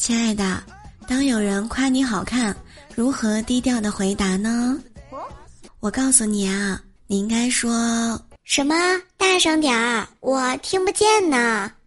亲爱的，当有人夸你好看，如何低调的回答呢？我告诉你啊，你应该说什么？大声点儿，我听不见呢。